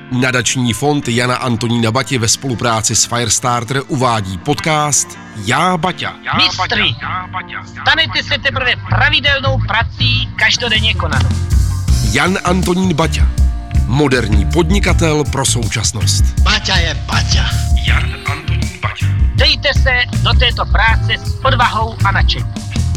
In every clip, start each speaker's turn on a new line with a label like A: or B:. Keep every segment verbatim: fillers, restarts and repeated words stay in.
A: Nadační fond Jana Antonína Bati ve spolupráci s Firestarter uvádí podcast Já Baťa.
B: Mistri, stanete se teprve pravidelnou prací každodenně konanou.
A: Jan Antonín Baťa, moderní podnikatel pro současnost.
B: Baťa je Baťa.
A: Jan Antonín Baťa.
B: Dejte se do této práce s odvahou a nadšením.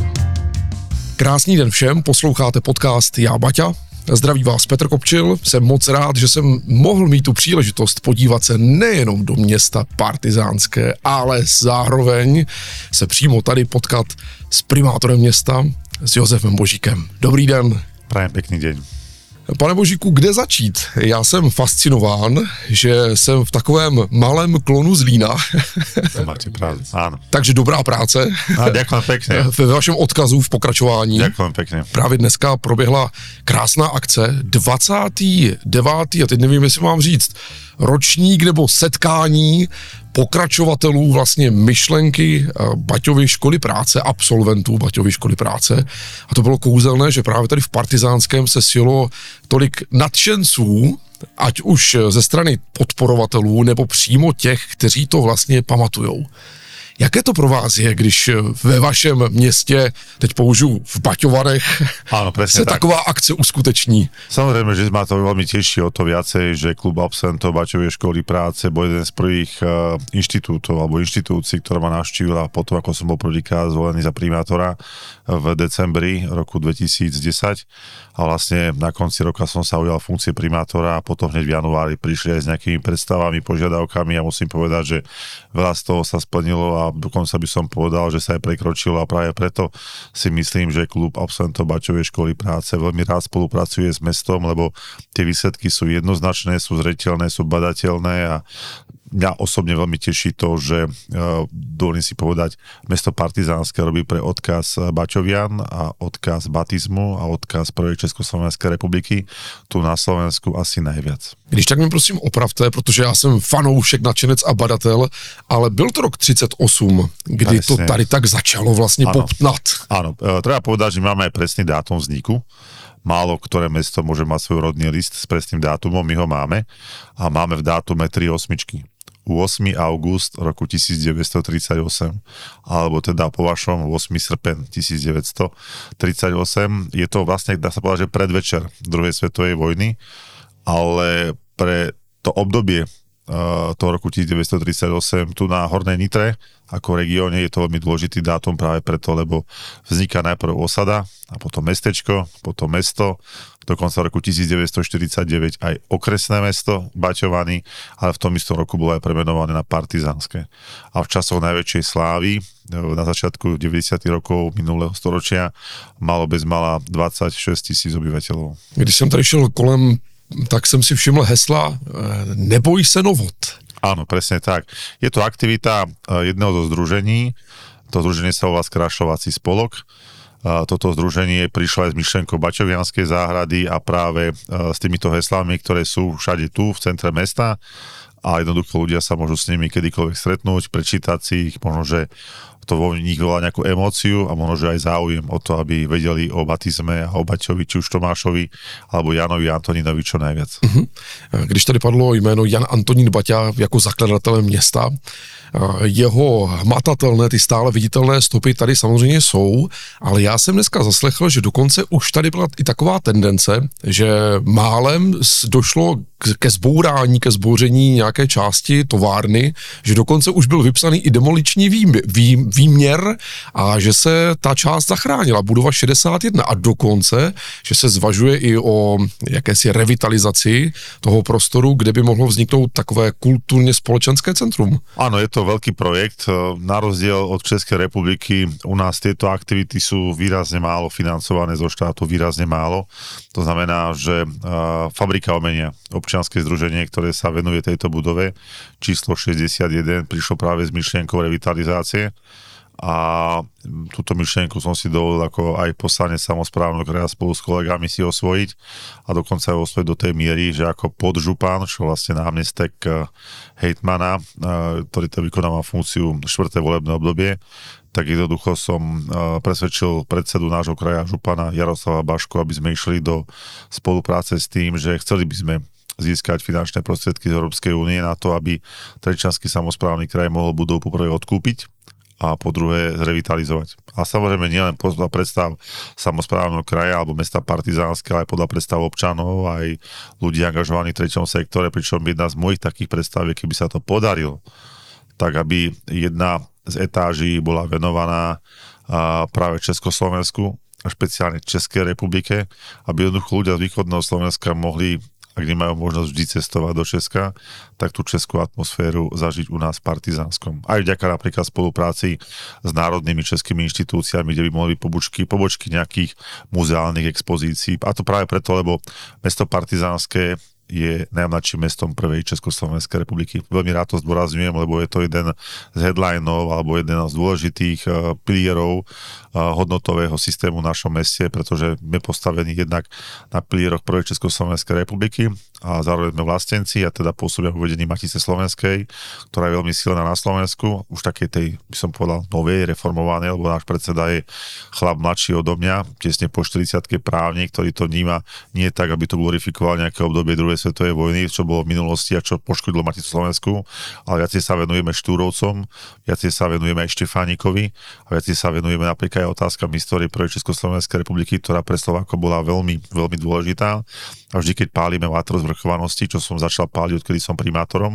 A: Krásný den všem, posloucháte podcast Já Baťa. Zdraví vás Petr Kopčil, jsem moc rád, že jsem mohl mít tu příležitost podívat se nejenom do města Partizánské, ale zároveň se přímo tady potkat s primátorem města, s Josefem Božíkem. Dobrý den.
C: Prajem pekný deň.
A: Pane Božíku, kde začít? Já jsem fascinován, že jsem v takovém malém klonu Zlína.
C: To máte pravdu, áno.
A: Takže dobrá práce.
C: A ďakujem pekne.
A: Ve vašem odkazu v pokračování.
C: Ďakujem pekne.
A: Právě dneska proběhla krásná akce, dvacátý devátý a teď nevím, jestli mám říct, ročník nebo setkání pokračovatelů vlastně myšlenky Baťovy školy práce, absolventů Baťovy školy práce. A to bylo kouzelné, že právě tady v Partizánském se sjelo tolik nadšenců, ať už ze strany podporovatelů, nebo přímo těch, kteří to vlastně pamatujou. Jaké to pro vás je, když ve vašem městě, teď použiju v Baťovanech,
C: Áno,
A: se
C: tak.
A: taková akce uskuteční?
C: Samozrejme, že ma to veľmi teší o to viacej, že klub absolventov Baťovej školy práce bol jeden z prvých uh, inštitútov alebo inštitúcií, ktorá ma navštívila potom, ako som bol prvýkrát zvolený za primátora v decembri roku dvetisícdesať. A vlastne na konci roka som sa ujal funkcie primátora a potom hneď v januári prišli aj s nejakými predstavami, požiadavkami a musím povedať, že veľa z toho sa splnilo a dokonca by som povedal, že sa aj prekročilo a práve preto si myslím, že klub absolventov Baťovej školy práce veľmi rád spolupracuje s mestom, lebo tie výsledky sú jednoznačné, sú zreteľné, sú badateľné a mňa osobne veľmi teší to, že dovolím si povedať, mesto Partizánske robí pre odkaz Baťovian a odkaz batizmu a odkaz prvej Československej republiky tu na Slovensku asi najviac.
A: Když tak mi prosím opravte, protože já jsem fanoušek, nadšenec a badatel, ale byl to rok třicet osm, kdy Presne. to tady tak začalo vlastně
C: Áno.
A: popnat.
C: Áno, treba povedať, že máme aj presný dátum vzniku. Málo ktoré mesto môže mať svoj rodný list s presným dátumom, my ho máme a máme v dátume tri osmičky. ôsmy august roku tisícdeväťstotridsaťosem, alebo teda po vašom ôsmy srpen tisícdeväťstotridsaťosem. Je to vlastne, dá sa povedať, že predvečer druhej svetovej vojny, ale pre to obdobie uh, toho roku tisícdeväťstotridsaťosem tu na Hornej Nitre ako regióne je to veľmi dôležitý dátum práve preto, lebo vzniká najprv osada a potom mestečko, potom mesto, do konca roku tisícdeväťstoštyridsaťdeväť aj okresné mesto Baťovany, ale v tom istom roku bolo aj premenované na Partizánske. A v časoch najväčšej slávy, na začiatku deväťdesiatych rokov minulého storočia, malo bezmála dvadsaťšesť tisíc obyvateľov.
A: Když jsem tady šel kolem, tak jsem si všiml hesla Neboj se novot.
C: Áno, presne tak. Je to aktivita jedného zo združení, to združenie sa volá Skrášľovací spolok. Toto združenie prišlo aj s myšlienkou Baťovianskej záhrady a práve s týmito heslami, ktoré sú všade tu, v centre mesta a jednoducho ľudia sa môžu s nimi kedykoľvek stretnúť, prečítať si ich, možno, že to vo nich volá nejakú emóciu a možno, že aj záujem o to, aby vedeli o batizme a o Baťovi, či už Tomášovi, alebo Janovi Antonínovi čo najviac.
A: Uh-huh. Když tady padlo jméno Jan Antonín Baťa jako zakladatelem města, jeho hmatatelné, ty stále viditelné stopy tady samozřejmě jsou, ale já jsem dneska zaslechl, že dokonce už tady byla i taková tendence, že málem došlo ke zbourání, ke zbouření nějaké části továrny, že dokonce už byl vypsaný i demoliční vý, vý, výměr a že se ta část zachránila, budova šedesát jedna a dokonce, že se zvažuje i o jakési revitalizaci toho prostoru, kde by mohlo vzniknout takové kulturně společenské centrum.
C: Áno, je to veľký projekt. Na rozdiel od Českej republiky u nás tieto aktivity sú výrazne málo financované zo štátu, výrazne málo. To znamená, že Fabrika umenia, občianske združenie, ktoré sa venuje tejto budove, číslo šesťdesiatjeden, prišlo práve s myšlienkou revitalizácie a túto myšlienku som si dovolil ako aj poslanec samosprávneho kraja spolu s kolegami si osvojiť a dokonca aj osvojiť do tej miery, že ako podžupan, čo vlastne námestek hejtmana, ktorý to vykonáva funkciu štvrté volebné obdobie, tak jednoducho som presvedčil predsedu nášho kraja župana Jaroslava Bašku, aby sme išli do spolupráce s tým, že chceli by sme získať finančné prostriedky z Európskej únie na to, aby Trenčiansky samosprávny kraj mohol budovu poprvé odkúpiť a po druhé zrevitalizovať. A samozrejme nielen podľa predstav samosprávneho kraja alebo mesta Partizánske, ale podľa predstav občanov aj ľudí angažovaných v treťom sektore, pričom jedna z mojich takých predstav je, keby sa to podarilo, tak aby jedna z etáží bola venovaná práve Československu a špeciálne Českej republike, aby jednoducho ľudia z východného Slovenska mohli, ak nemajú možnosť vždy cestovať do Česka, tak tú českú atmosféru zažiť u nás v Partizánskom. Aj vďaka napríklad spolupráci s národnými českými inštitúciami, kde by mohli byť pobočky, pobočky nejakých muzeálnych expozícií. A to práve preto, lebo mesto Partizánske je najmladším mestom prvej Československej republiky. Veľmi rád to zdôrazňujem, lebo je to jeden z headlineov alebo jeden z dôležitých uh, pilierov uh, hodnotového systému v našom meste, pretože sme postavení jednak na pilieroch prvej Československej republiky a zároveň sme vlastenci a teda pôsobia v uvedení Matice slovenskej, ktorá je veľmi silná na Slovensku, už takej tej, by som povedal, novej, reformovanej, lebo náš predseda je chlap mladší odo mňa, tesne po štyridsiatke právnik, ktorý to vníma nie tak, aby to glorifikoval nejaké obdobie druhej svetovej vojny, čo bolo v minulosti a čo poškodilo Maticu Slovensku, ale viacej sa venujeme Štúrovcom, viacej sa venujeme aj Štefánikovi a viacej sa venujeme napríklad aj otázkam histórie prvej Československej republiky, ktorá pre Slovákov bola veľmi, veľmi dôležitá. A vždy, keď pálime vátro zvrchovanosti, čo som začal páliť, odkedy som primátorom,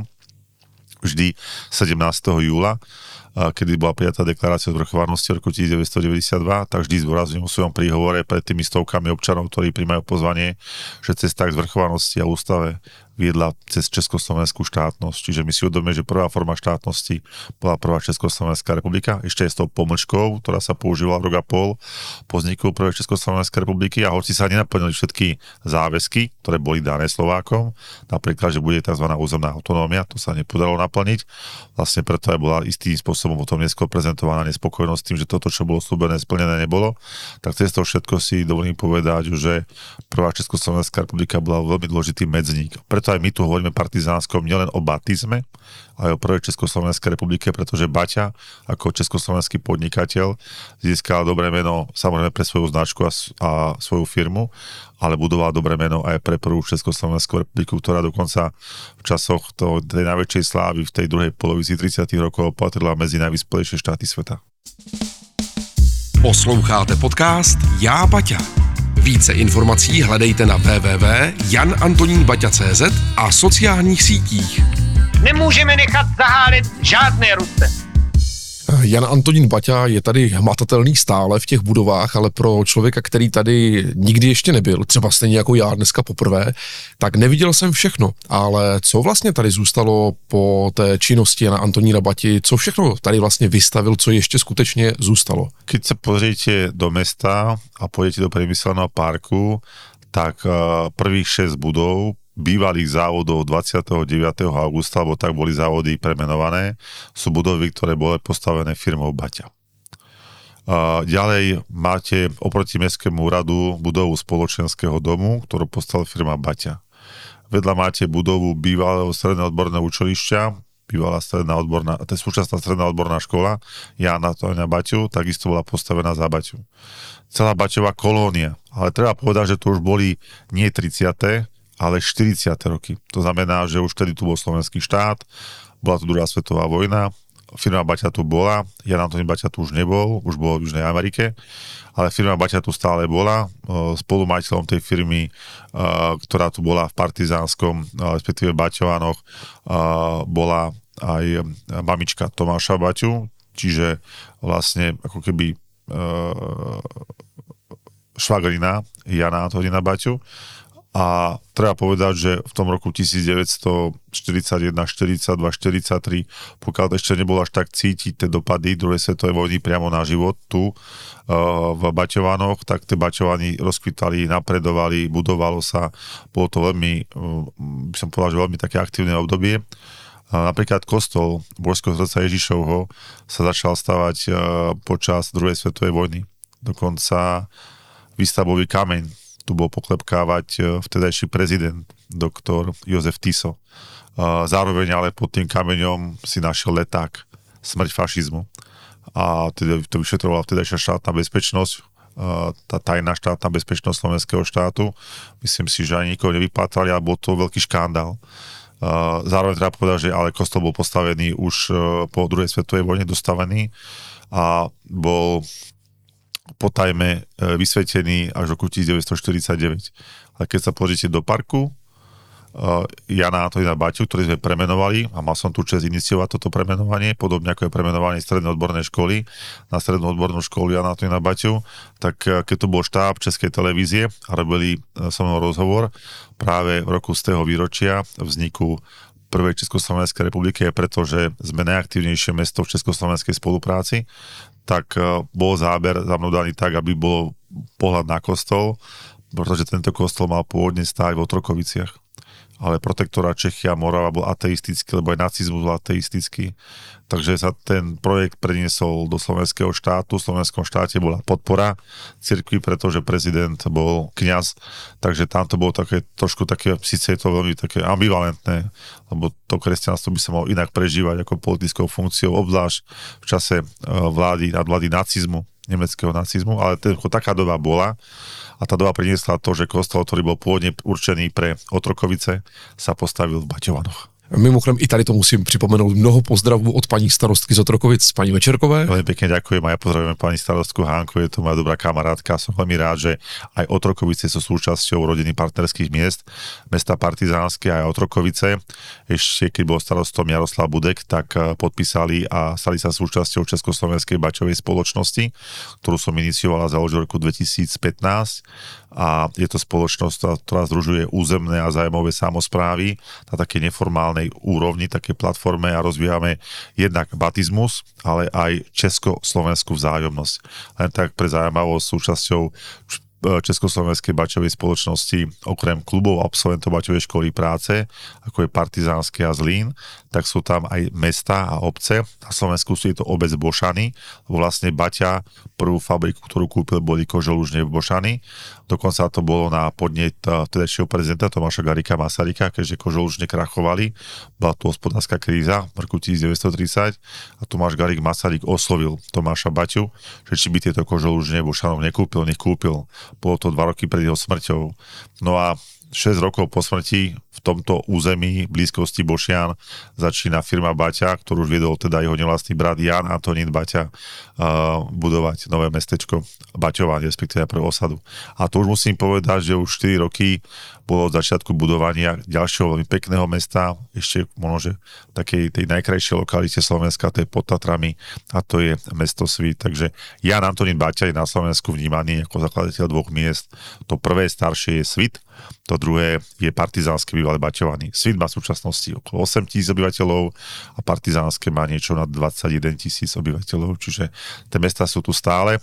C: vždy sedemnásteho júla, kedy bola prijatá deklarácia o zvrchovanosti roku devätnásťstodeväťdesiatdva, tak vždy zdôrazňujem o svojom príhovore pred tými stovkami občanov, ktorí prijímajú pozvanie, že cesta k zvrchovanosti a ústave viedla cez Československú štátnosť. Čiže my si uvedomíme, že prvá forma štátnosti bola prvá Československá republika, ešte aj s tou pomlčkou, ktorá sa používala rok a pol po vzniku prvej Československej republiky a hoci sa nenaplnili všetky záväzky, ktoré boli dané Slovákom, napríklad, že bude tzv. Územná autonómia, to sa nepodarilo naplniť. Vlastne preto aj bola istým spôsobom potom neskôr prezentovaná nespokojnosť tým, že toto, čo bolo slúbené, splnené nebolo. Tak cez to všetko si dovolím povedať, že prvá Československá republika bola veľmi dôležitý medzník. Preto aj my tu hovoríme Partizánskom nielen o batizme, ale o prvej Československej republike, pretože Baťa ako československý podnikateľ získal dobré meno samozrejme pre svoju značku a, a svoju firmu, ale budoval dobré meno aj pre prvú Československú republiku, ktorá dokonca v časoch to, tej najväčšej slávy v tej druhej polovici tridsiatych rokov patrila medzi najvyspelejšie štáty sveta.
A: Posloucháte podcast Já Baťa. Více informací hledejte na w w w tečka jan antonín baťa tečka cé zet a sociálních sítích.
B: Nemůžeme nechat zahálit žádné Ruse.
A: Jan Antonín Baťa je tady hmatatelný stále v těch budovách, ale pro člověka, který tady nikdy ještě nebyl, třeba stejně jako já dneska poprvé, tak neviděl jsem všechno. Ale co vlastně tady zůstalo po té činnosti Jana Antonína Bati, co všechno tady vlastně vystavil, co ještě skutečně zůstalo?
C: Keď se pozriete do mesta a pôjdete do priemyselného parku, tak prvých šesť budov bývalých závodov dvadsiateho deviateho augusta, alebo tak boli závody premenované, sú budovy, ktoré boli postavené firmou Baťa. Ďalej máte oproti Mestskému úradu budovu spoločenského domu, ktorú postavila firma Baťa. Vedľa máte budovu bývalého stredného odborného učilišťa, bývalá stredná odborná, to je súčasná stredná odborná škola Jána Antonína Baťu, takisto bola postavená za Baťu. Celá Baťová kolónia, ale treba povedať, že to už boli nie tridsiate ale štyridsiate roky. To znamená, že už vtedy tu bol slovenský štát, bola tu druhá svetová vojna, firma Baťa tu bola, Jan Antonín Baťa tu už nebol, už bol v Južnej Amerike, ale firma Baťa tu stále bola. Spolumajiteľom tej firmy, ktorá tu bola v Partizánskom, respektíve Baťovanoch, bola aj mamička Tomáša Baťu, čiže vlastne ako keby švagrina Jana Antonína Baťu. A treba povedať, že v tom roku devätnásťstoštyridsaťjeden, štyridsaťdva, štyridsaťtri, pokiaľ ešte nebolo až tak cítiť tie dopady druhej svetovej vojny priamo na život tu uh, v Baťovanoch, tak tie Baťovany rozkvitali, napredovali, budovalo sa, bolo to veľmi, uh, by som povedal, že veľmi také aktívne obdobie. Uh, napríklad kostol Božského srdca Ježišovho sa začal stavať uh, počas druhej svetovej vojny. Dokonca výstavbový kameň tu bol poklepkávať vtedajší prezident, doktor Jozef Tiso. Zároveň ale pod tým kameňom si našiel leták, smrť fašizmu. A teda to vyšetrovala vtedajšia štátna bezpečnosť tá tajná štátna bezpečnosť slovenského štátu. Myslím si, že ani nikoho nevypátrali, ale bol to veľký škandál. Zároveň treba povedať, že ale kostol bol postavený už po druhej svetovej vojne, dostavený a bol po tajme vysvetený až v roku devätnásťstoštyridsaťdeväť. Ale keď sa pozrite do parku Jana Antonína Baťu, ktorý sme premenovali a mal som tu čest iniciovať toto premenovanie, podobne ako je premenovanie strednej odbornej školy na strednú odbornú školu Jana Antonína Baťu, tak keď to bol štáb Českej televízie a robili so mnou rozhovor práve v roku z tého výročia vzniku prvej Československej republiky, pretože sme najaktívnejšie mesto v československej spolupráci, tak bol záber za mnou daný tak, aby bol pohľad na kostol, pretože tento kostol mal pôvodne stáť v Otrokoviciach. Ale protektorát Čechia a Morava bol ateistický, lebo aj nacizmus bol ateistický. Takže sa ten projekt preniesol do slovenského štátu. V slovenskom štáte bola podpora cirkvi, pretože prezident bol kňaz. Takže tam to bolo také, trošku také, síce je to veľmi také ambivalentné, lebo to kresťanstvo by sa malo inak prežívať ako politickou funkciou, obzvlášť v čase vlády, nadvlády nacizmu, nemeckého nacizmu, ale taká doba bola. A tá doba priniesla to, že kostol, ktorý bol pôvodne určený pre Otrokovice, sa postavil v Baťovanoch.
A: Mimochodem i tady to musím připomenout, mnoho pozdravů od paní starostky z Otrokovic, paní Večerkové.
C: Veľmi pekne ďakujem a ja pozdravujem pani starostku Hánku, je to moja dobrá kamarátka. Som veľmi rád, že aj Otrokovice sú súčasťou rodiny partnerských miest, mesta Partizánske a aj Otrokovice. Ešte keď bol starostom Jaroslav Budek, tak podpísali a stali sa súčasťou Československej baťovej spoločnosti, ktorú som iniciovala za v roku dvetisícpätnásť. A je to spoločnosť, ktorá združuje územné a zájmové samosprávy na také neformálnej úrovni, také platforme a rozvíjame jednak batizmus, ale aj československú vzájomnosť. Len tak pre zaujímavosť súčasťou Československej baťovej spoločnosti, okrem klubov absolventov baťovej školy práce, ako je Partizánske a Zlín, tak sú tam aj mesta a obce. Na Slovensku sú je to obec Bošany, lebo vlastne Baťa, prvú fabriku, ktorú kúpil, boli Koželužne v Bošany. Dokonca to bolo na podnet vtedajšieho prezidenta Tomáša Garrigua Masaryka, keďže Koželužne krachovali. Bola tu hospodárska kríza v roku devätnásťstotridsať a Tomáš Garrigue Masaryk oslovil Tomáša Baťu, že či by tieto Koželužne Bošanov nekúpil, nech kúpil. Bolo to dva roky pred jeho smrťou. No a šesť rokov po smrti v tomto území blízkosti Bošian začína firma Baťa, ktorú už viedol teda jeho nevlastný brat Jan Antonín Baťa, uh, budovať nové mestečko Baťovanie, respektíve pre osadu. A to už musím povedať, že už štyri roky bolo od začiatku budovania ďalšieho veľmi pekného mesta, ešte možno, že takej tej najkrajšej lokalite Slovenska, to je pod Tatrami, a to je mesto Svit. Takže Jan Antonín Baťa je na Slovensku vnímaný ako zakladateľ dvoch miest. To prvé staršie je Svit, to druhé je Partizánske bývalé Baťovany. Svit má v súčasnosti okolo osem tisíc obyvateľov a Partizánske má niečo nad dvadsaťjeden tisíc obyvateľov, čiže tie mestá sú tu stále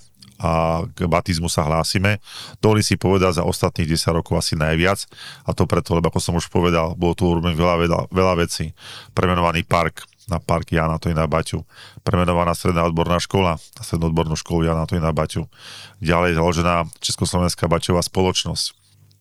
C: a k batizmu sa hlásime. Dovolím si povedať za ostatných desať rokov asi najviac, a to preto, lebo ako som už povedal, bolo tu urobené veľa, veľa, veľa vecí. Premenovaný park na park Jana Antonína Baťu, premenovaná stredná odborná škola na strednú odbornú školu Jana Antonína Baťu, ďalej založená Československá baťová spoločnosť,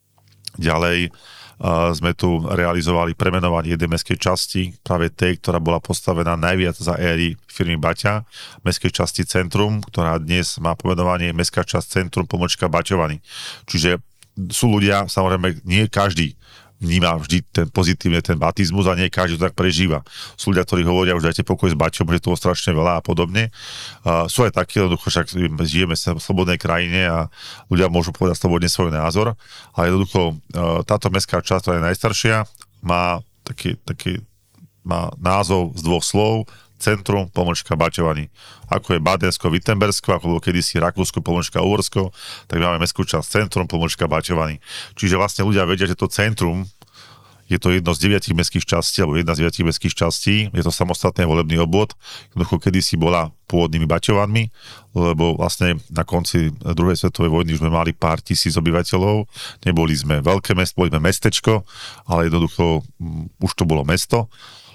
C: ďalej Uh, sme tu realizovali premenovanie jednej mestskej časti, práve tej, ktorá bola postavená najviac za éry firmy Baťa, mestskej časti Centrum, ktorá dnes má pomenovanie Mestská časť Centrum pomočka Baťovany. Čiže sú ľudia, samozrejme, nie každý vníma vždy ten pozitívne ten batizmus a nie každý to tak prežíva. Sú ľudia, ktorí hovoria, už dajte pokoj s Baťom, že toho strašne veľa a podobne. Uh, sú aj takí, jednoducho, však žijeme v slobodnej krajine a ľudia môžu povedať slobodne svoj názor, ale jednoducho uh, táto mestská časť, ktorá je najstaršia, má taký, taký má názov z dvoch slov, Centrum pomočka Baťovany. Ako je Badensko, Wittenbergsko, ako bolo kedysi Rakúsko pomočka Uhorsko, tak máme mestskú časť Centrum pomočka Baťovany. Čiže vlastne ľudia vedia, že to centrum je to jedno z deviatich mestských častí, alebo jedna z deviatich mestských častí, je to samostatný volebný obvod, jednoducho kedysi bola pôvodnými Baťovanmi, lebo vlastne na konci druhej svetovej vojny už sme mali pár tisíc obyvateľov, neboli sme veľké mesto, boli sme mestečko, ale jednoducho um, už to bolo mesto.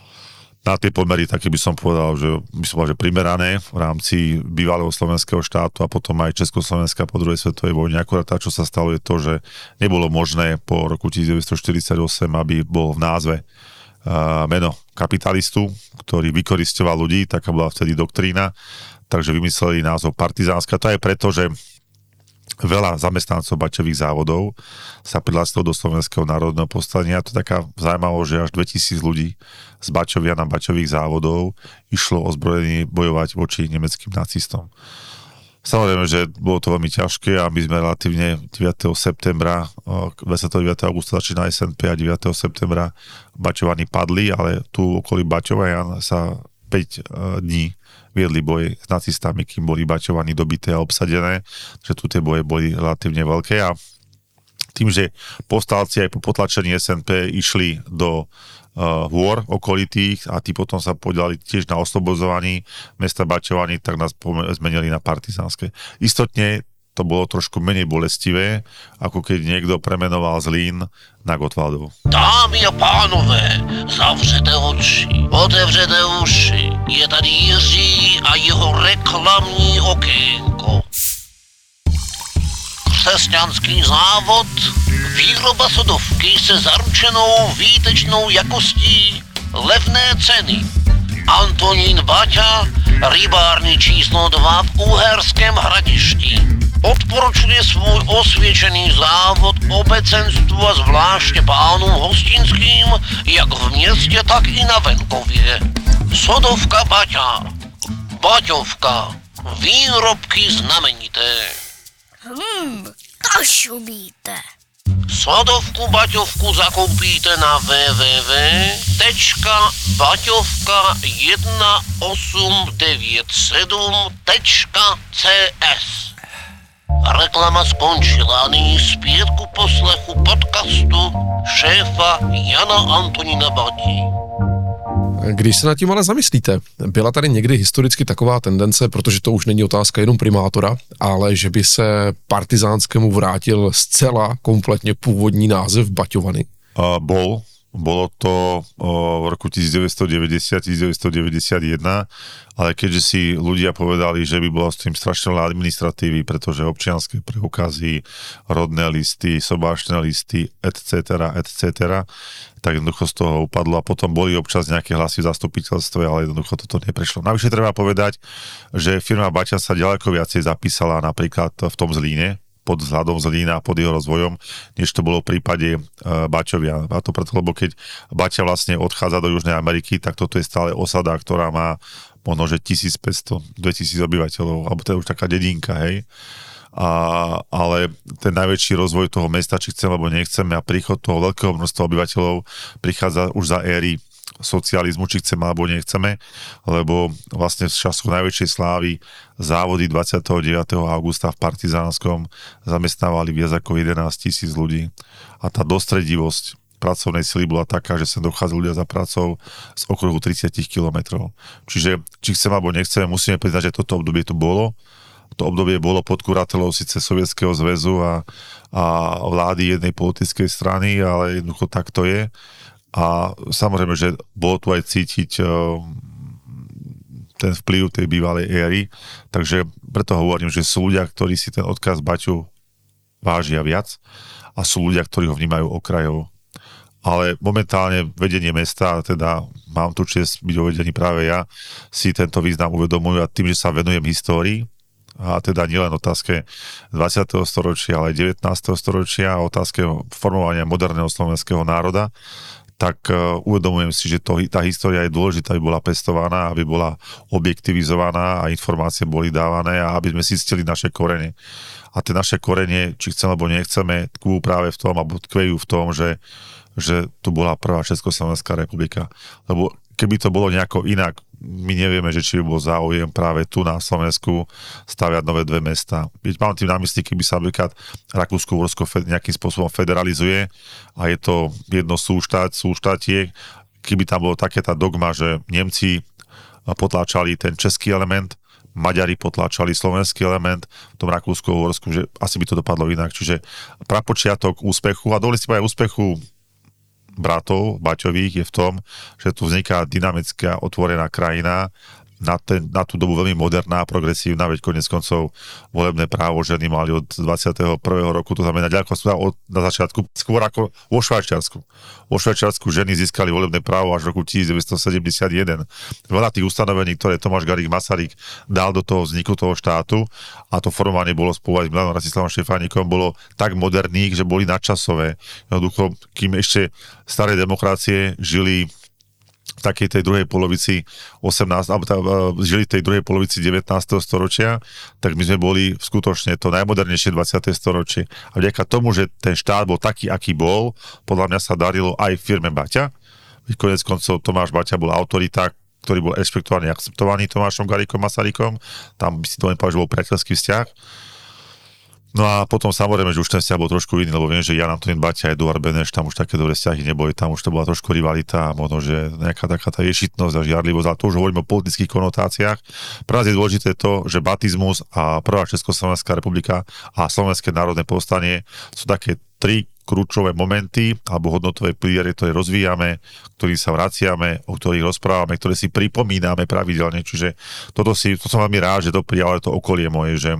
C: Na tie pomery také by som povedal, že by som povedal, že primerané v rámci bývalého slovenského štátu a potom aj Československa po druhej svetovej vojne. Akurát tá, čo sa stalo, je to, že nebolo možné po roku devätnásťstoštyridsaťosem, aby bol v názve uh, meno kapitalistu, ktorý vykoristoval ľudí, taká bola vtedy doktrína, takže vymysleli názov Partizánska. To je preto, že veľa zamestnancov baťových závodov sa prihlásilo do Slovenského národného povstania. To je taká zaujímavosť, že až dvetisíc ľudí z Baťovia na baťových závodov išlo ozbrojení bojovať voči nemeckým nacistom. Samozrejme, že bolo to veľmi ťažké a my sme relatívne deviateho septembra, dvadsiateho deviateho augusta začína es en pé a deviateho septembra Baťovani padli, ale tu okolí Baťovian sa päť dní viedli boje s nacistami, kým boli Baťovany dobité a obsadené, že tu tie boje boli relatívne veľké a tým, že povstalci aj po potlačení es en pé išli do uh, hôr okolitých a tí potom sa podielali tiež na oslobodzovaní mesta Baťovany, tak nás zmenili na partizánske. Istotne to bolo trošku menej bolestivé, ako keď niekto premenoval Zlín na Gotwaldov.
D: Dámy a pánové, zavřete oči, otevřete uši. Je tady Jiří a jeho reklamní okénko. Křesťanský závod, výroba sodovky se zaručenou výtečnou jakostí, levné ceny. Antonín Baťa, rybárny číslo dva v Uherském Hradišti. Odporučuje svůj osvědčený závod obecenstvu a zvláště pánům hostinským, jak v městě, tak i na venkově. Sodovka Baťa, Baťovka, výrobky znamenité.
E: Hmm, kašumíte.
D: Sodovku Baťovku zakoupíte na w w w tečka baťovka jedna osm devět sedm tečka c s. Reklama skončila, nyní zpět ku poslechu podcastu šéfa Jana Antonína Bati.
A: Když se nad tím ale zamyslíte, byla tady někdy historicky taková tendence, protože to už není otázka jenom primátora, ale že by se partizánskému vrátil zcela kompletně původní název Baťovany?
C: Uh, bol. Bolo to v roku devätnásťstodeväťdesiat devätnásťstodeväťdesiatjeden, ale keďže si ľudia povedali, že by bolo s tým strašne veľa administratívy, pretože občianske preukazy, rodné listy, sobášne listy, et cetera, et cetera, tak jednoducho z toho upadlo a potom boli občas nejaké hlasy v zastupiteľstve, ale jednoducho toto neprešlo. Navyše treba povedať, že firma Baťa sa ďaleko viacej zapísala napríklad v tom Zlíne, pod vzhľadom Zlína a pod jeho rozvojom, než to bolo v prípade uh, Baťovia. A to preto, lebo keď Baťa vlastne odchádza do Južnej Ameriky, tak toto je stále osada, ktorá má možno, že tisícpäťsto, dvetisíc obyvateľov, alebo to je už taká dedinka, hej. A, ale ten najväčší rozvoj toho mesta, či chceme, alebo nechceme, a príchod toho veľkého množstva obyvateľov prichádza už za éry socializmu, či chceme alebo nechceme, lebo vlastne v času najväčšej slávy závody dvadsiateho deviateho augusta v Partizánskom zamestnávali viac ako jedenásť tisíc ľudí a tá dostredivosť pracovnej sily bola taká, že sa dochádzali ľudia za pracou z okruhu tridsať kilometrov. Čiže či chceme alebo nechceme, musíme priznať, že toto obdobie tu bolo. To obdobie bolo pod kuratelou síce Sovietskeho zväzu a, a vlády jednej politickej strany, ale jednoducho tak to je. A samozrejme, že bolo tu aj cítiť uh, ten vplyv tej bývalej éry, takže preto hovorím, že sú ľudia, ktorí si ten odkaz Baťu vážia viac a sú ľudia, ktorí ho vnímajú okrajovo. Ale momentálne vedenie mesta, teda mám tu čest byť uvedený práve ja, si tento význam uvedomujú a tým, že sa venujem histórii, a teda nielen otázke dvadsiateho storočia, ale aj devätnásteho storočia a otázke formovania moderného slovenského národa, tak uh, uvedomujem si, že to, tá história je dôležitá, aby bola pestovaná, aby bola objektivizovaná a informácie boli dávané a aby sme zistili naše korene. A tie naše korene, či chceme alebo nechceme, tkvú práve v tom, alebo tkvejú v tom, že, že tu bola prvá Československá republika. Lebo keby to bolo nejako inak, my nevieme, že či by bol záujem práve tu na Slovensku staviať nové dve mesta. Mám tým na mysli, keby sa napríklad Rakúsko-Uhorsko nejakým spôsobom federalizuje a je to jedno súštát, súštátie, keby tam bolo taká tá dogma, že Nemci potláčali ten český element, Maďari potláčali slovenský element v tom Rakúsko-Uhorsku, že asi by to dopadlo inak. Čiže prapočiatok úspechu a dovolím si povedať úspechu bratov Baťových je v tom, že tu vzniká dynamická otvorená krajina na, ten, na tú dobu veľmi moderná, progresívna, veď konec koncov volebné právo ženy mali od dvadsiateho prvého roku, to znamená ďaleko od, na začiatku, skôr ako vo Švajčiarsku. Vo Švajčiarsku ženy získali volebné právo až v roku devätnásťsedemdesiatjeden. Veľa tých ustanovení, ktoré Tomáš Garrigue Masaryk dal do toho vzniku toho štátu, a to formovanie bolo spolu aj s Milanom Rastislavom Štefánikom, bolo tak moderných, že boli nadčasové. Jednoducho, kým ešte staré demokracie žili v takej tej druhej polovici osemnásteho alebo tá, žili v tej druhej polovici devätnásteho storočia, tak my sme boli skutočne to najmodernejšie dvadsiate storočie. A vďaka tomu, že ten štát bol taký, aký bol, podľa mňa sa darilo aj firme Baťa. Konec koncov Tomáš Baťa bol autorita, ktorý bol rešpektovaný a akceptovaný Tomášom Garriguom Masarykom. Tam by si to nepovedal, že bol priateľský vzťah. No a potom samozrejme, že už ten vzťah bol trošku iný, lebo viem, že Jan Antonín Baťa a Eduard Beneš, tam už také dobré vzťahy neboli, tam už to bola trošku rivalita a možno, že nejaká taká tá ješitnosť a žiarlivosť, ale to už hovoríme o politických konotáciách. Pre nás je dôležité to, že batizmus a prvá Československá republika a Slovenské národné povstanie sú také tri kľúčové momenty alebo hodnotové piliere, ktoré rozvíjame, ktorým sa vraciame, o ktorých rozprávame, ktoré si pripomíname pravidelne. Čiže toto si, to som veľmi rád, že to prijalo to okolie moje, že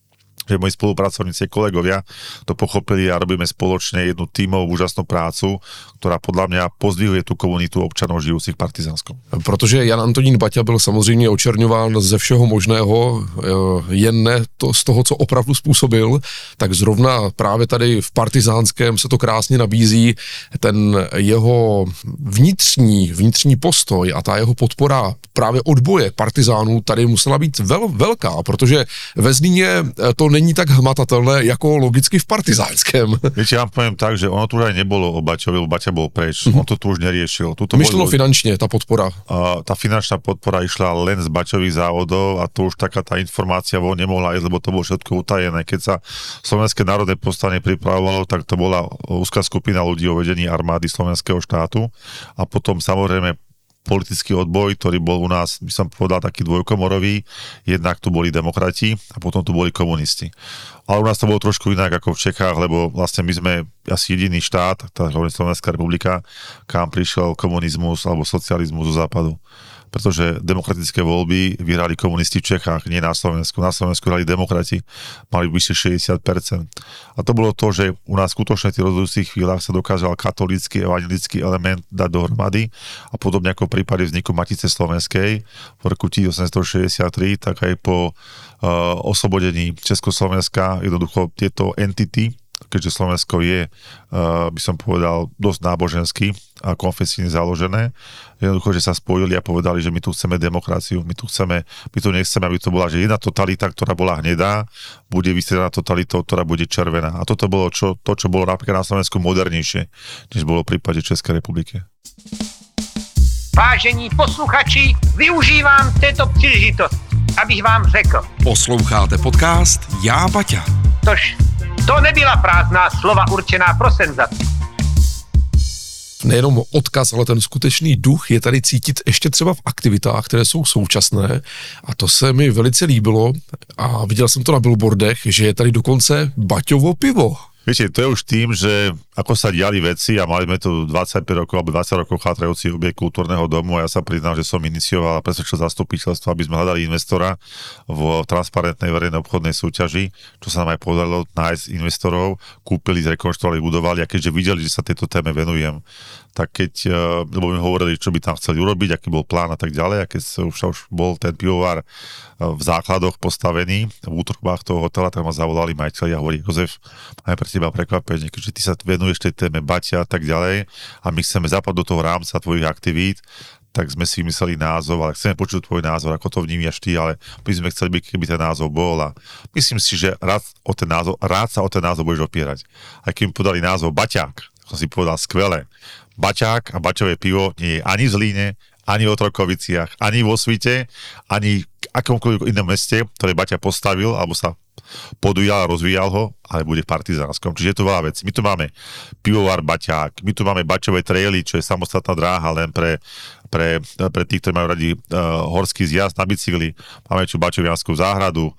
C: že moji spolupracovníci, kolegovia to pochopili a robíme spoločne jednu tímovú úžasnú prácu, ktorá podľa mňa pozdvihuje tú komunitu občanov žijúcich v Partizánskom.
A: Protože Jan Antonín Baťa byl samozřejmě očerňován ze všeho možného, jen ne to z toho, co opravdu způsobil, tak zrovna právě tady v Partizánském se to krásně nabízí, ten jeho vnitřní, vnitřní postoj a ta jeho podpora právě odboje partizánů tady musela být vel, velká, protože ve Zlíně to není tak hmatatelné, jako logicky v Partizánském.
C: Viete, ja vám poviem tak, že ono tu aj nebolo o Baťovi, lebo Baťa bol preč. Mm-hmm. On to tu už neriešil.
A: Myšleno bol, finančne, tá podpora.
C: Uh, tá finančná podpora išla len z Baťových závodov a to už taká tá informácia von nemohla ísť, lebo to bolo všetko utajené. Keď sa Slovenské národné povstanie pripravovalo, tak to bola úzka skupina ľudí o vedení armády Slovenského štátu a potom samozrejme politický odboj, ktorý bol u nás, by som povedal, taký dvojkomorový. Jednak tu boli demokrati a potom tu boli komunisti. Ale u nás to bolo trošku inak ako v Čechách, lebo vlastne my sme asi jediný štát, tá Slovenská republika, kam prišiel komunizmus alebo socializmus zo západu. Pretože demokratické voľby vyhrali komunisti v Čechách, nie na Slovensku. Na Slovensku hrali demokrati, mali vyše šesťdesiat percent. A to bolo to, že u nás skutočne v tých rozhodujúcich chvíľach sa dokázal katolícky, evangelický element dať dohromady a podobne ako v prípade vzniku Matice slovenskej v roku osemnásťstošesťdesiattri, tak aj po uh, oslobodení Československa jednoducho tieto entity, keďže Slovensko je, uh, by som povedal, dosť nábožensky a konfesíne založené, jednoducho, že sa spojili a povedali, že my tu chceme demokraciu, my tu chceme, my tu nechceme, aby to bola, že jedna totalita, ktorá bola hnedá, bude vystriedaná totalitou, ktorá bude červená. A toto bolo čo, to, čo bolo napríklad na Slovensku modernejšie, než bolo v prípade Českej republiky.
B: Vážení posluchači, využívám této příležitosti, abych vám řekl.
F: Posloucháte podcast Já Baťa.
B: Tož to nebyla prázdná slova určená pro senzaci.
A: Nejenom odkaz, ale ten skutečný duch je tady cítit ještě třeba v aktivitách, které jsou současné a to se mi velice líbilo a viděl jsem to na billboardech, že je tady dokonce Baťovo pivo.
C: Viete, to je už tým, že ako sa diali veci a mali sme tu dvadsaťpäť rokov alebo dvadsať rokov chátrajúci objekt kultúrneho domu a ja sa priznám, že som inicioval a presvedčil zastupiteľstvo, aby sme hľadali investora v transparentnej verejnej obchodnej súťaži, čo sa nám aj podarilo nájsť investorov, kúpili, zrekonštruovali, budovali a keďže videli, že sa tejto téme venujem, tak keď, lebo mi hovorili, čo by tam chceli urobiť, aký bol plán a tak ďalej a keď už, už bol ten pivovar v základoch postavený v útrobách toho hotela, tak ma zavolali majiteľi a hovorí, Jozef, máme pre teba prekvapenie, keďže ty sa venuješ tej téme Baťa a tak ďalej a my chceme zapadť do toho rámca tvojich aktivít, tak sme si vymysleli názov, ale chceme počuť tvoj názor, ako to vnímaš ty, ale my sme chceli, keby ten názov bol a myslím si, že rád, o ten názov, rád sa o ten názov budeš opierať. A keď mi podali názov Baťák, som si povedal skvelé. Baťák a Baťové pivo nie je ani v Zlíne, ani v Otrokoviciach, ani vo Svite, ani v akomkoľvek inom meste, ktoré Baťa postavil, alebo sa podujal a rozvíjal ho, ale bude v Partizánskom. Čiže je to veľa vecí. My tu máme pivovar Baťák, my tu máme Baťové traily, čo je samostatná dráha len pre, pre, pre tých, ktorí majú radi uh, horský zjazd na bicykli. Máme tu Baťovianskú záhradu,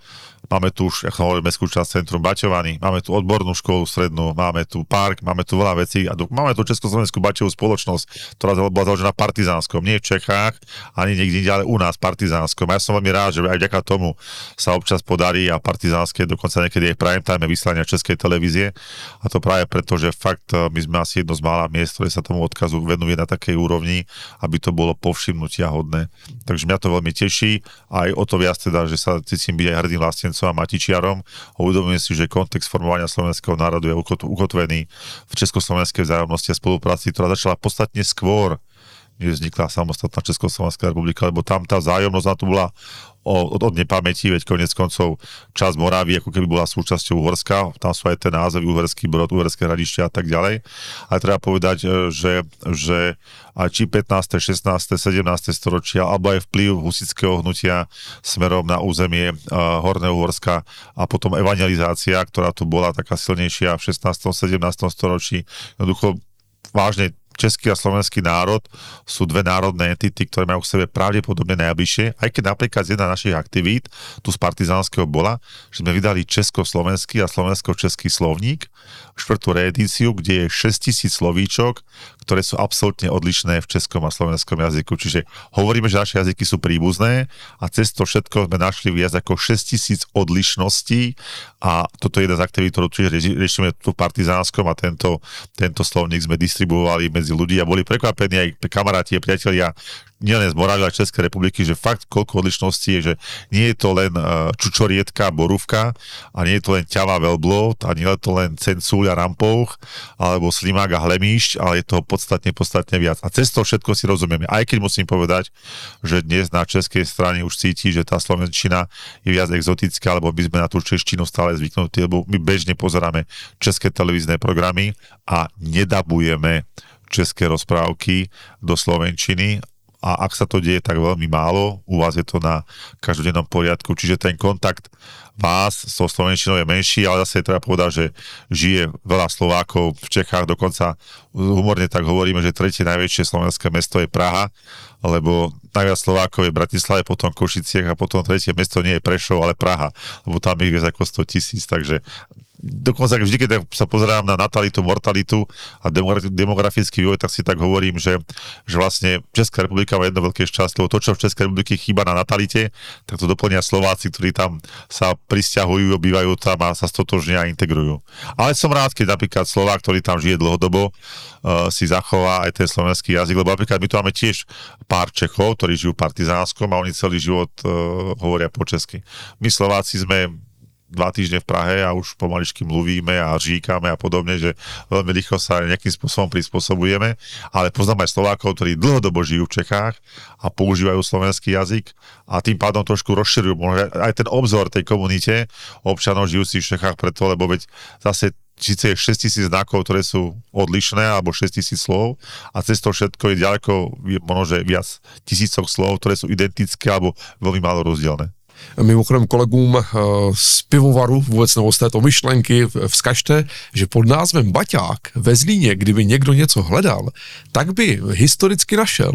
C: máme tu už, ako hovorím, mestskú časť Centrum Baťovany, máme tu odbornú školu strednú, máme tu park, máme tu veľa vecí a tu, máme tu Československú baťovú spoločnosť, ktorá bola založená partizánskom, nie v Čechách, ani niekde inde, ale u nás partizánskom. A ja som veľmi rád, že aj vďaka tomu sa občas podarí a partizánske, dokonca niekedy aj prime time vysielania Českej televízie. A to práve preto, že fakt my sme asi jedno z mála miest, ktoré sa tomu odkazu venuje na takej úrovni, aby to bolo povšimnutia hodné. Takže mňa to veľmi teší, aj o to viac teda, že sa cítim byť aj hrdým vlastencom a matičiarom. Uvedomujem si, že kontext formovania slovenského národu je ukotvený v československej vzájomnosti a spolupráci, ktorá začala podstatne skôr, než vznikla samostatná Československá republika, lebo tam tá vzájomnosť na to bola od, od nepamäti, veď konec koncov časť Moravy ako keby bola súčasťou Uhorska, tam sú aj tie názvy Uherský Brod, Uherské Hradište a tak ďalej. Ale treba povedať, že, že aj či pätnáste, šestnáste, sedemnáste storočia, alebo aj vplyv husitského hnutia smerom na územie uh, Horného Uhorska a potom evangelizácia, ktorá tu bola taká silnejšia v šestnástom, sedemnástom storočí, jednoducho vážne český a slovenský národ sú dve národné entity, ktoré majú k sebe pravdepodobne najbližšie, aj keď napríklad z jedna našich aktivít, tu z partizánskeho bola, že sme vydali československý a slovensko-český slovník, štvrtú reedíciu, kde je šesťtisíc slovíčok, ktoré sú absolútne odlišné v českom a slovenskom jazyku. Čiže hovoríme, že naše jazyky sú príbuzné a cez to všetko sme našli viac ako šesťtisíc odlišností a toto je jedna z aktivít, ktorú tiež riešime tu v partizánskom a tento, tento slovník sme distribuovali medzi ľudí a boli prekvapení aj kamaráti a priatelia nielen z Moravy, ale Českej republiky, že fakt koľko odlišností je, že nie je to len uh, čučorietka, borúvka a nie je to len ťava veľblot a nie je to len cencúľ a rampouch alebo slimák a hlemíšť, ale je toho podstatne, podstatne viac. A cez to všetko si rozumieme. Aj keď musím povedať, že dnes na českej strane už cíti, že tá slovenčina je viac exotická, lebo my sme na tú češtinu stále zvyknutí, lebo my bežne pozeráme české televízne programy a nedabujeme české rozprávky do slovenčiny. A ak sa to deje tak veľmi málo, u vás je to na každodennom poriadku, čiže ten kontakt vás so slovenčinou je menší, ale zase treba povedať, že žije veľa Slovákov v Čechách, dokonca humorne tak hovoríme, že tretie najväčšie slovenské mesto je Praha, lebo najviac Slovákov je v Bratislave, potom Košiciach a potom tretie mesto nie je Prešov, ale Praha, lebo tam ich viac ako sto tisíc, takže dokonca vždy, keď sa pozerám na natalitu, mortalitu a demografický vývoj, tak si tak hovorím, že, že vlastne Česká republika má jedno veľké šťastie, lebo to, čo v Českej republike chýba na natalite, tak to doplnia Slováci, ktorí tam sa prisťahujú, obývajú tam a sa stotožnia a integrujú. Ale som rád, keď napríklad Slovák, ktorý tam žije dlhodobo, uh, si zachová aj ten slovenský jazyk, lebo napríklad my tu máme tiež pár Čechov, ktorí žijú v partizánskom a oni celý život uh, hovoria po česky. My Slováci sme dva týždne v Prahe a už pomaličky mluvíme a říkáme a podobne, že veľmi rýchlo sa nejakým spôsobom prispôsobujeme, ale poznám aj Slovákov, ktorí dlhodobo žijú v Čechách a používajú slovenský jazyk a tým pádom trošku rozširujú aj ten obzor tej komunite občanov žijúcich v Čechách preto, lebo veď zase síce je šesťtisíc znakov, ktoré sú odlišné, alebo šesťtisíc slov a cez to všetko je ďaleko, možno, že viac tisícok slov, ktoré sú identické alebo veľmi málo rozdielne.
A: Mimochodem kolegům z pivovaru vůbec nebo z této myšlenky vzkažte, že pod názvem Baťák ve Zlíně, kdyby někdo něco hledal, tak by historicky našel.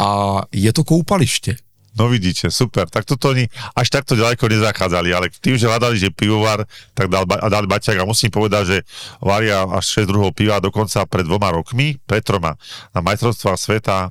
A: A je to koupaliště.
C: No vidíte, super, tak toto oni až takto ďaleko nezachádzali, ale tým, že hľadali, že pivovar, tak dal, a dali Baťák a musím povedať, že varia až šesť druhov piva dokonca pred dvoma rokmi, pred troma, na majstrovstvách sveta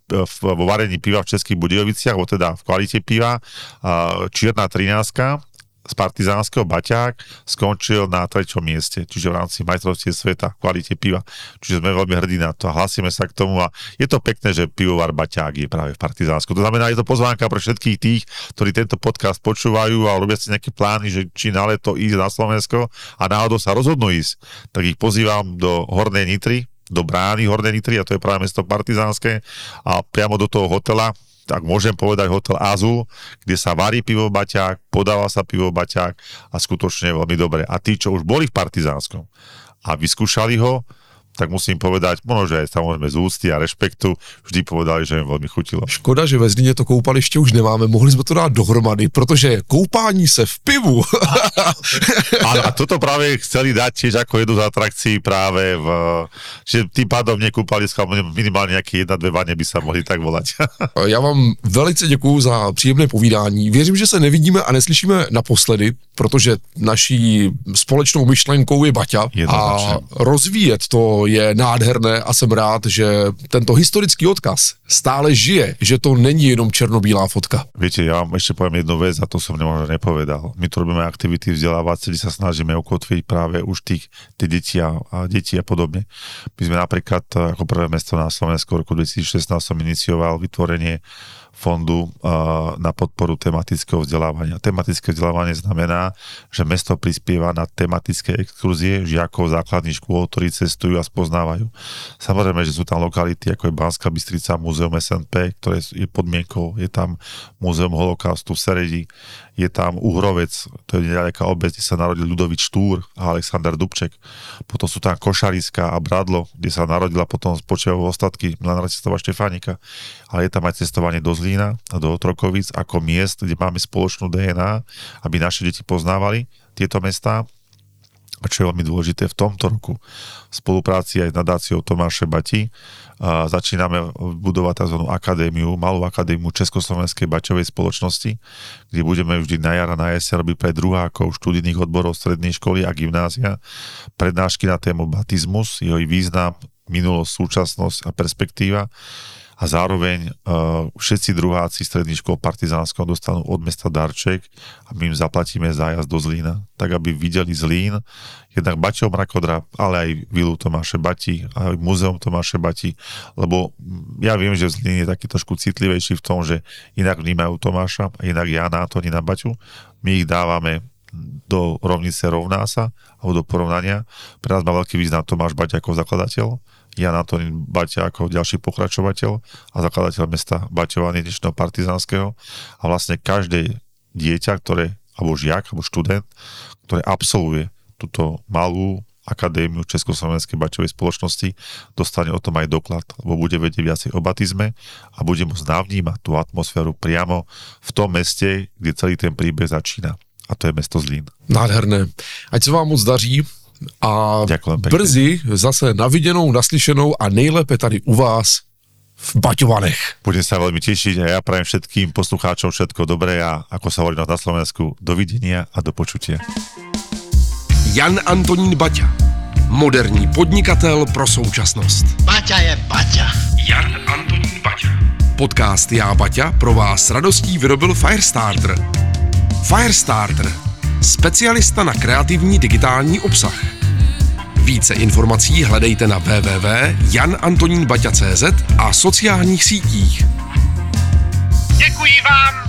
C: vo varení piva v Českých Budějoviciach, alebo teda v kvalite piva, čierna trináctka z partizánskeho Baťák skončil na treťom mieste, čiže v rámci majstrovstiev sveta v kvalite piva. Čiže sme veľmi hrdí na to a hlásime sa k tomu a je to pekné, že pivovar Baťák je práve v Partizánsku. To znamená, je to pozvánka pre všetkých tých, ktorí tento podcast počúvajú a robia si nejaké plány, že či na leto ísť na Slovensko a náhodou sa rozhodnú ísť, tak ich pozývam do Hornej Nitry, do brány Hornej Nitry, a to je práve mesto Partizánske, a priamo do toho hotela, tak môžem povedať hotel Azul, kde sa varí pivo Baťák, podáva sa pivo Baťák a skutočne veľmi dobre. A tí, čo už boli v Partizánskom a vyskúšali ho, tak musím povedať, možno, že aj samozrejme z úcty a rešpektu, vždy povedali, že im veľmi chutilo.
A: Škoda, že ve Zlíně to koupaliště už nemáme, mohli jsme to dát dohromady, protože koupání se v pivu.
C: A, a toto práve chceli dať tiež ako jednu z atrakcií práve v, že tým pádom nekúpaliska, minimálne nejaké jedna, dve vane by sa mohli tak volať.
A: Já vám velice děkuju za příjemné povídání. Věřím, že se nevidíme a neslyšíme naposledy, protože naší společnou myšlenkou je Baťa a rozvíjet to je nádherné a jsem rád, že tento historický odkaz stále žije, že to není jenom černobílá fotka.
C: Viete, ja vám ešte poviem jednu vec a to som možno nepovedal. My tu robíme aktivity vzdelávacie, kde sa snažíme ukotviť práve už tých, tých detí a, a detí a podobne. My sme napríklad ako prvé mesto na Slovensku v roku dvetisícšestnásť som inicioval vytvorenie fondu uh, na podporu tematického vzdelávania. Tematické vzdelávanie znamená, že mesto prispieva na tematické exkurzie žiakov základných škôl, ktorí cestujú a spoznávajú. Samozrejme, že sú tam lokality, ako je Banská Bystrica, Múzeum es en pé, ktoré je podmienkou, je tam Múzeum holokaustu v Seredi, je tam Uhrovec, to je neďaleká obec, kde sa narodil Ľudovít Štúr a Alexander Dubček. Potom sú tam Košariska a Bradlo, kde sa narodila potom spočiajú ostatky Milana Rastislava Štefánika. Ale je tam aj cestovanie do Zlína a do Otrokovic ako miest, kde máme spoločnú dé en á, aby naše deti poznávali tieto mestá. A čo je veľmi dôležité, v tomto roku v spolupráci aj s nadáciou Tomáše Bati a začíname budovať tzv. Akadémiu, malú akadémiu Československej baťovej spoločnosti, kde budeme vždy na jar a na jeseň robiť pre druhákov študijných odborov strednej školy a gymnázia prednášky na tému batizmus, jeho význam, minulosť, súčasnosť a perspektíva. A zároveň uh, všetci druháci stredných škôl Partizánského dostanú od mesta darček a my im zaplatíme zájazd do Zlína, tak aby videli Zlín, jednak Baťov Mrakodráp, ale aj vilu Tomáše Bati, aj múzeum Tomáše Bati, lebo ja viem, že Zlín je taký trošku citlivejší v tom, že inak vnímajú Tomáša a inak Jána Antonína Baťu. My ich dávame do rovnice rovná sa, alebo do porovnania. Pre nás má veľký význam Tomáš Baťa ako zakladateľ, Jan Antonín Baťa ako ďalší pokračovateľ a zakladateľ mesta Baťova dnešného Partizánskeho. A vlastne každé dieťa, ktoré, alebo žiak, alebo študent, ktoré absolvuje túto malú akadémiu Československej baťovej spoločnosti, dostane o tom aj doklad, lebo bude vedieť viacej o batizme a bude môcť navnímať tú atmosféru priamo v tom meste, kde celý ten príbeh začína. A to je mesto Zlín.
A: Nádherné. Ať se vám moc daří a brzy zase na viděnou, naslyšenou a nejlépe tady u vás v Baťovanech.
C: Budem sa veľmi tešiť a ja prajem všetkým poslucháčom všetko dobré a ako sa hovorí na Slovensku, dovidenia a do počutia.
F: Jan Antonín Baťa, moderní podnikatel pro současnost.
D: Baťa je Baťa.
F: Jan Antonín Baťa. Podcast Já Baťa pro vás s radostí vyrobil Firestarter. Firestarter. Specialista na kreativní digitální obsah. Více informací hledejte na w w w tečka jan antonín baťa tečka cé zet a sociálních sítích.
B: Děkuji vám